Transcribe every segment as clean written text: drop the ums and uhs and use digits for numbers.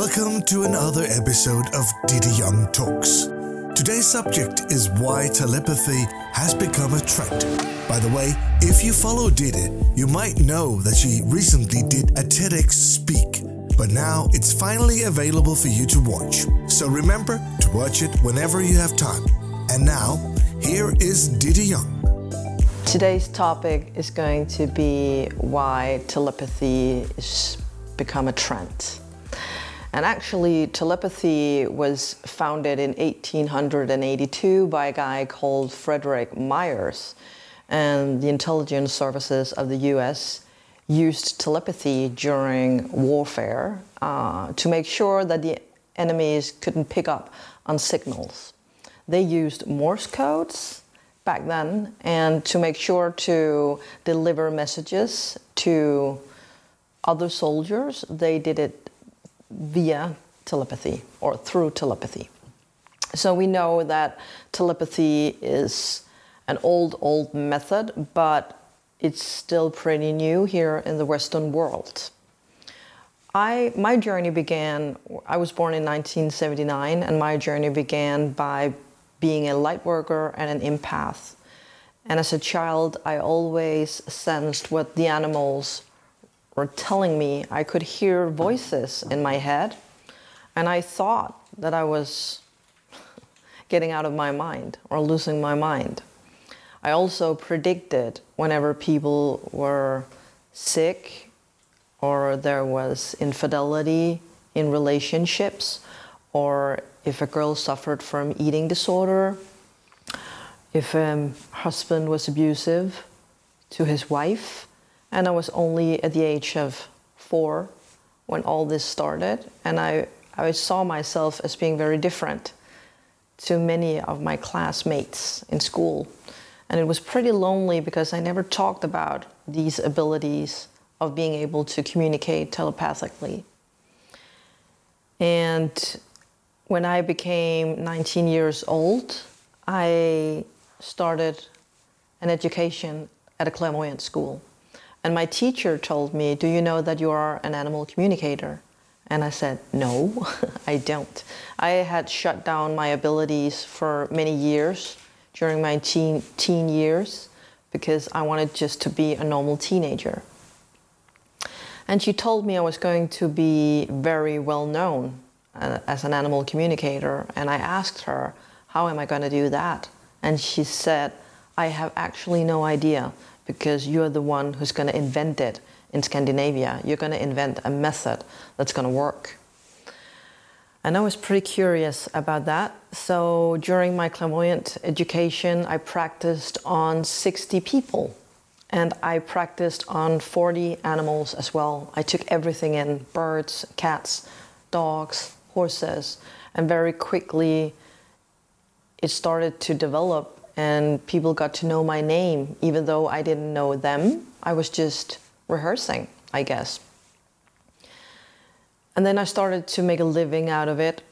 Welcome to another episode of Didi Young Talks. Today's subject is why telepathy has become a trend. By the way, if you follow Didi, you might know that she recently did a TEDx speak, but now it's finally available for you to watch. So remember to watch it whenever you have time. And now, here is Didi Young. Today's topic is going to be why telepathy has become a trend. And actually, telepathy was founded in 1882 by a guy called Frederick Myers. And the intelligence services of the US used telepathy during warfare to make sure that the enemies couldn't pick up on signals. They used Morse codes back then, and to make sure to deliver messages to other soldiers, they did it via telepathy or through telepathy. So we know that telepathy is an old method, but it's still pretty new here in the Western world. My journey began, I was born in 1979, and my journey began by being a light worker and an empath. And as a child, I always sensed what the animals were telling me. I could hear voices in my head, and I thought that I was getting out of my mind or losing my mind. I also predicted whenever people were sick or there was infidelity in relationships, or if a girl suffered from eating disorder, if a husband was abusive to his wife. And I was only at the age of 4 when all this started. And I saw myself as being very different to many of my classmates in school. And it was pretty lonely because I never talked about these abilities of being able to communicate telepathically. And when I became 19 years old, I started an education at a clairvoyant school. And my teacher told me, "Do you know that you are an animal communicator?" And I said, "No, I don't." I had shut down my abilities for many years during my teen years because I wanted just to be a normal teenager. And she told me I was going to be very well known as an animal communicator. And I asked her, "How am I going to do that?" And she said, "I have actually no idea, because you're the one who's going to invent it in Scandinavia. You're going to invent a method that's going to work." And I was pretty curious about that. So during my clairvoyant education, I practiced on 60 people. And I practiced on 40 animals as well. I took everything in: birds, cats, dogs, horses. And very quickly, it started to develop. And people got to know my name, even though I didn't know them. I was just rehearsing, I guess. And then I started to make a living out of it.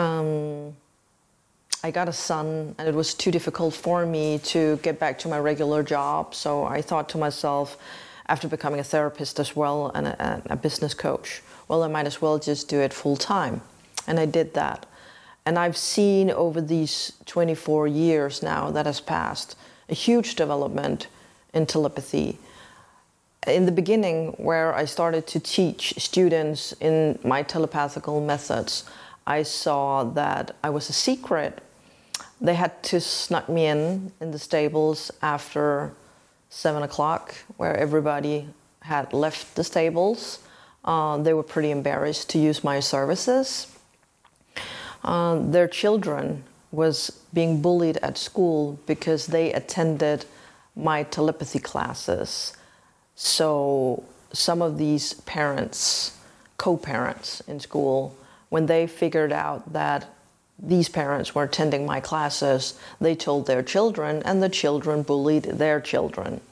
I got a son, and it was too difficult for me to get back to my regular job. So I thought to myself, after becoming a therapist as well and a business coach, well, I might as well just do it full time. And I did that. And I've seen over these 24 years now that has passed a huge development in telepathy. In the beginning, where I started to teach students in my telepathical methods, I saw that I was a secret. They had to snuck me in the stables after 7 o'clock, where everybody had left the stables. They were pretty embarrassed to use my services. Their children was being bullied at school because they attended my telepathy classes. So some of these parents, co-parents in school, when they figured out that these parents were attending my classes, they told their children, and the children bullied their children.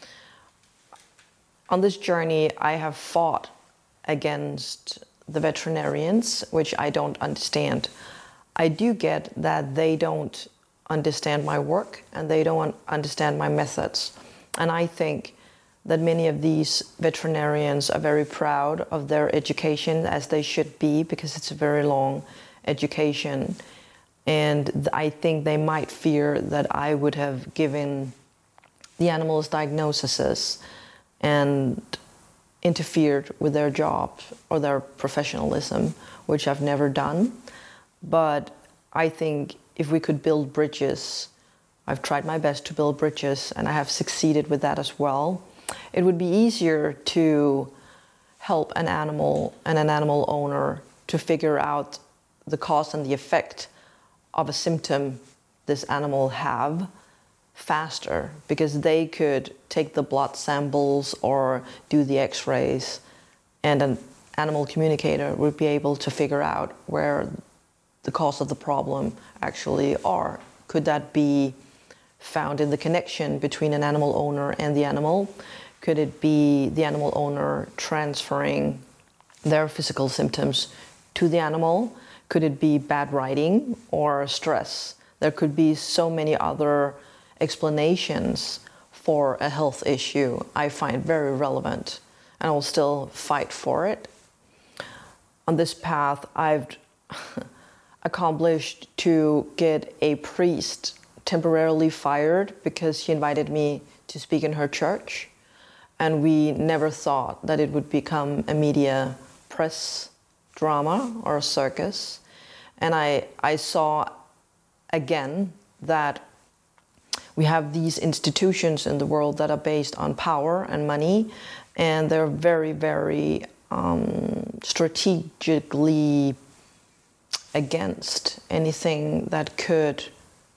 On this journey, I have fought against the veterinarians, which I don't understand. I do get that they don't understand my work and they don't understand my methods. And I think that many of these veterinarians are very proud of their education, as they should be, because it's a very long education. And I think they might fear that I would have given the animals diagnoses and interfered with their job or their professionalism, which I've never done. But I think if we could build bridges, I've tried my best to build bridges, and I have succeeded with that as well. It would be easier to help an animal and an animal owner to figure out the cause and the effect of a symptom this animal have faster, because they could take the blood samples or do the x-rays, and an animal communicator would be able to figure out where the cause of the problem actually are. Could that be found in the connection between an animal owner and the animal? Could it be the animal owner transferring their physical symptoms to the animal? Could it be bad riding or stress? There could be so many other explanations for a health issue I find very relevant, and I will still fight for it. On this path, I've accomplished to get a priest temporarily fired because he invited me to speak in her church, and we never thought that it would become a media press drama or a circus. And I saw again that we have these institutions in the world that are based on power and money, and they're very, very strategically against anything that could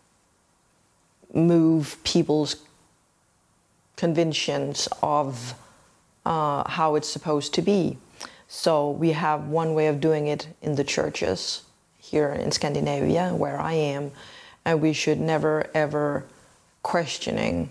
move people's convictions of how it's supposed to be. So we have one way of doing it in the churches here in Scandinavia, where I am, and we should never ever question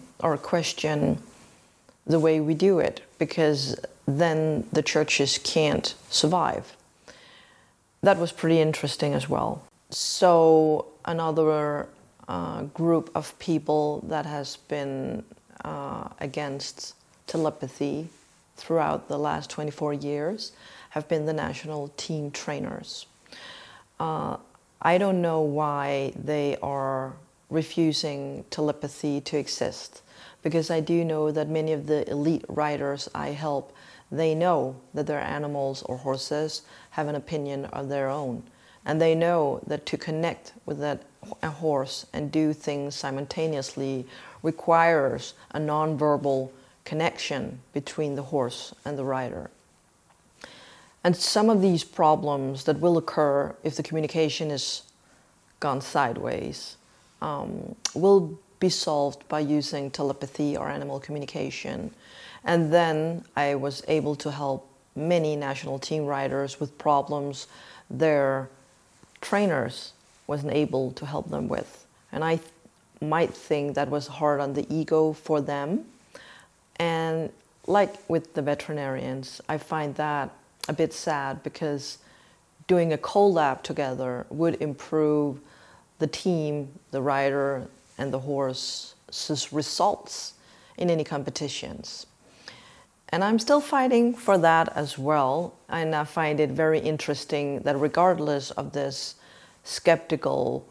the way we do it, because then the churches can't survive. That was pretty interesting as well. So another group of people that has been against telepathy throughout the last 24 years have been the national team trainers. I don't know why they are refusing telepathy to exist, because I do know that many of the elite riders I help, they know that their animals or horses have an opinion of their own, and they know that to connect with a horse and do things simultaneously requires a non-verbal connection between the horse and the rider. And some of these problems that will occur if the communication is gone sideways will be solved by using telepathy or animal communication. And then I was able to help many national team riders with problems their trainers wasn't able to help them with. And I might think that was hard on the ego for them. And like with the veterinarians, I find that a bit sad, because doing a collab together would improve the team, the rider, and the horse's results in any competitions. And I'm still fighting for that as well. And I find it very interesting that regardless of this skeptical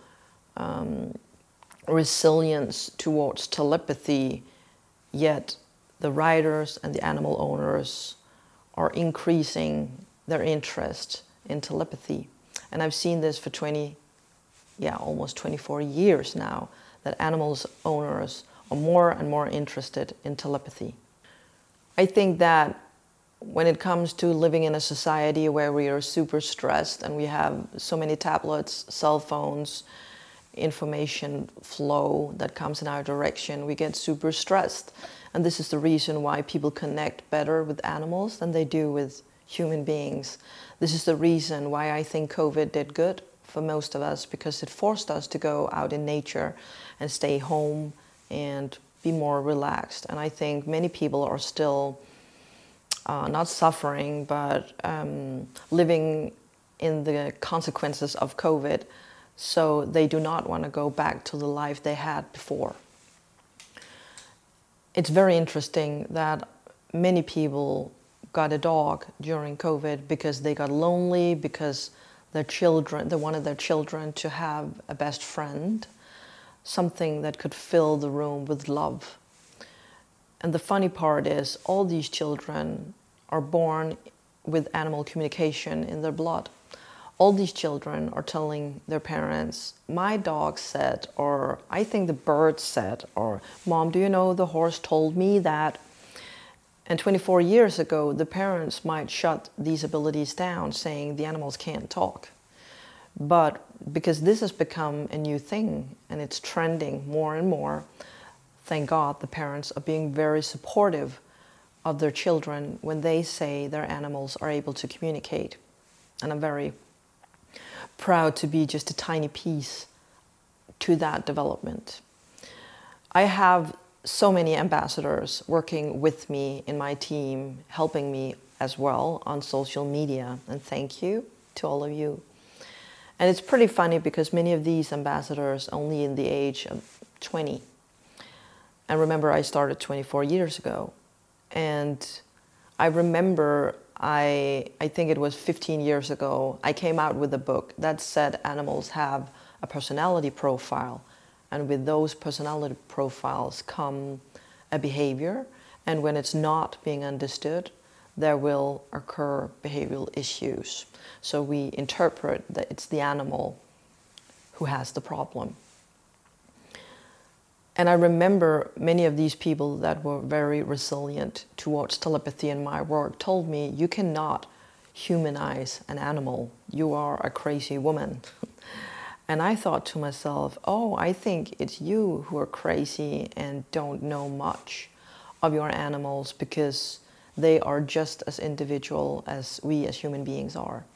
resilience towards telepathy, yet the riders and the animal owners are increasing their interest in telepathy. And I've seen this for almost 24 years now, that animals owners are more and more interested in telepathy. I think that when it comes to living in a society where we are super stressed and we have so many tablets, cell phones, information flow that comes in our direction, we get super stressed. And this is the reason why people connect better with animals than they do with human beings. This is the reason why I think COVID did good for most of us, because it forced us to go out in nature and stay home and be more relaxed. And I think many people are still not suffering, but living in the consequences of COVID, so they do not want to go back to the life they had before. It's very interesting that many people got a dog during COVID because they got lonely, because they wanted their children to have a best friend, something that could fill the room with love. And the funny part is, all these children are born with animal communication in their blood. All these children are telling their parents, my dog said, or I think the bird said, or Mom, do you know the horse told me that? And 24 years ago, the parents might shut these abilities down, saying the animals can't talk. But because this has become a new thing and it's trending more and more, thank God the parents are being very supportive of their children when they say their animals are able to communicate. And I'm very proud to be just a tiny piece to that development. I have so many ambassadors working with me in my team, helping me as well on social media, and thank you to all of you. And it's pretty funny because many of these ambassadors only in the age of 20. And remember, I started 24 years ago. And I remember, I think it was 15 years ago, I came out with a book that said animals have a personality profile. And with those personality profiles come a behavior. And when it's not being understood, there will occur behavioral issues. So we interpret that it's the animal who has the problem. And I remember many of these people that were very resilient towards telepathy in my work told me, you cannot humanize an animal. You are a crazy woman. And I thought to myself, oh, I think it's you who are crazy and don't know much of your animals because they are just as individual as we as human beings are.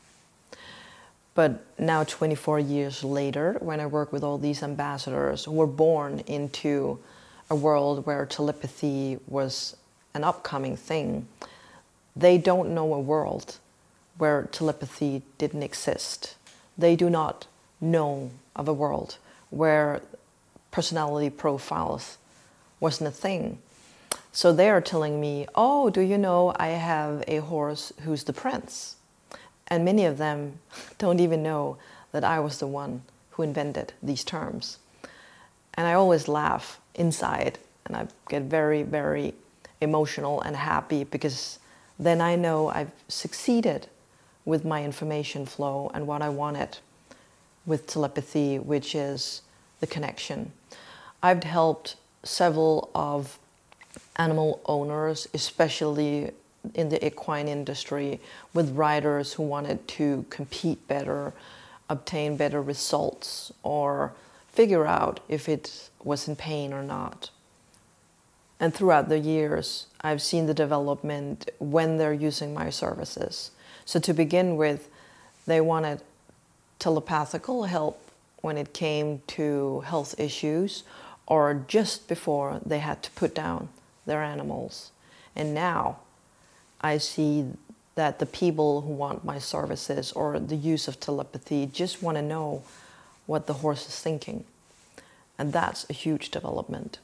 But now 24 years later, when I work with all these ambassadors who were born into a world where telepathy was an upcoming thing, they don't know a world where telepathy didn't exist. They do not know of a world where personality profiles wasn't a thing. So they are telling me, oh, do you know I have a horse who's the prince? And many of them don't even know that I was the one who invented these terms. And I always laugh inside and I get very, very emotional and happy because then I know I've succeeded with my information flow and what I wanted with telepathy, which is the connection. I've helped several of animal owners, especially in the equine industry, with riders who wanted to compete better, obtain better results, or figure out if it was in pain or not. And throughout the years, I've seen the development when they're using my services. So to begin with, they wanted telepathical help when it came to health issues or just before they had to put down their animals. And now I see that the people who want my services or the use of telepathy just want to know what the horse is thinking. And that's a huge development.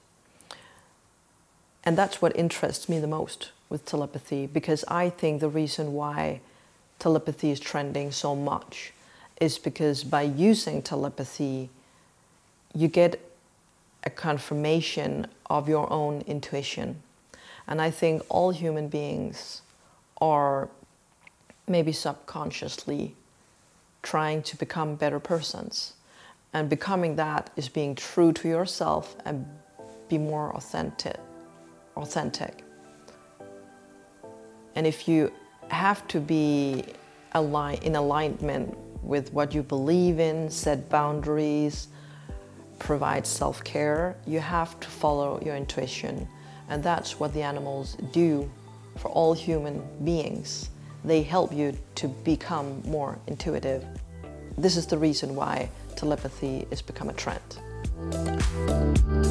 And that's what interests me the most with telepathy, because I think the reason why telepathy is trending so much is because by using telepathy, you get a confirmation of your own intuition. And I think all human beings are maybe subconsciously trying to become better persons. And becoming that is being true to yourself and be more authentic. And if you have to be in alignment with what you believe in, set boundaries, provide self-care, you have to follow your intuition. And that's what the animals do for all human beings. They help you to become more intuitive. This is the reason why telepathy has become a trend.